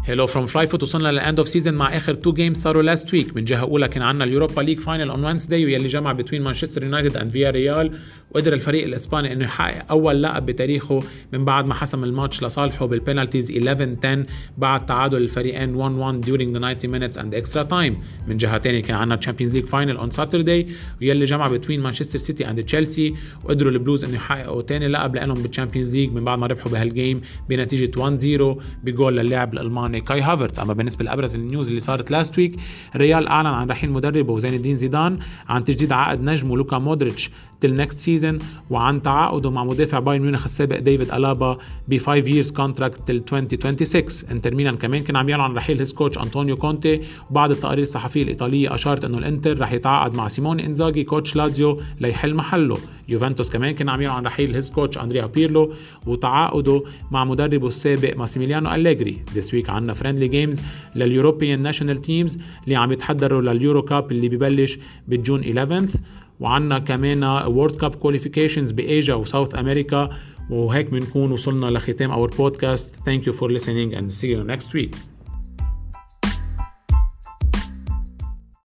هلو فروم فلاي فوت. وصلنا للاند اوف سيزون مع اخر 2 جيمز صاروا لاست ويك. من جهه اولى كان عندنا اليوروبا ليج فاينل اون وينزداي واللي جمع بين مانشستر يونايتد اند فيا ريال، وقدر الفريق الاسباني انه يحقق اول لقب بتاريخه من بعد ما حسم الماتش لصالحه بالبينالتيز 11-10 بعد تعادل الفريقين 1-1 during the 90 minutes and extra time. من جهه ثانيه كان عندنا تشامبيونز ليج فاينل اون ساترداي واللي جمع بين مانشستر سيتي اند تشيلسي، وقدروا البلوز انه يحققوا ثاني لقب لهم بالتشامبيونز ليج من بعد ما ربحوا بهالجيم بنتيجه 1-0 بجول للاعب الالماني كاي هافرتز. اما بالنسبه لابرز النيوز اللي صارت لاست ويك، ريال اعلن عن رحيل مدربه زين الدين زيدان، عن تجديد عقد نجمه لوكا مودريتش تل نكست سيزون، وعن تعاقده مع مدافع بايرن ميونخ السابق ديفيد ألابا ب 5 years contract تل 2026. انتر ميلان كمان كان عم يعلن عن رحيل هيز كوتش أنطونيو كونتي، وبعض التقارير الصحفيه الايطاليه اشارت انه الانتر رح يتعاقد مع سيموني انزاغي كوتش لازيو ليحل محله. يوفنتوس كمان كان عم يعلن عن رحيل هيز كوتش اندريا بيرلو وتعاقده مع مدربه السابق ماسيميليانو أليغري. ذس ويك عندنا فريندلي جيمز لليوروبيان ناشونال تيمز اللي عم يتحضروا لليورو كاب اللي ببلش بالجون 11th، وعنا كمان وورد كاب كواليفيكيشنز بإيجا وساوث أمريكا. وهيك بنكون وصلنا لختام اور بودكاست. Thank you for listening and see you next week.